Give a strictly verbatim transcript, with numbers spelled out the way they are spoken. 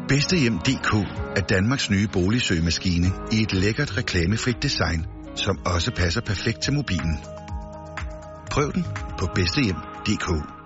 Bedstehjem punktum d k er Danmarks nye boligsøgemaskine i et lækkert reklamefrit design, som også passer perfekt til mobilen. Prøv den på bedstehjem punktum d k.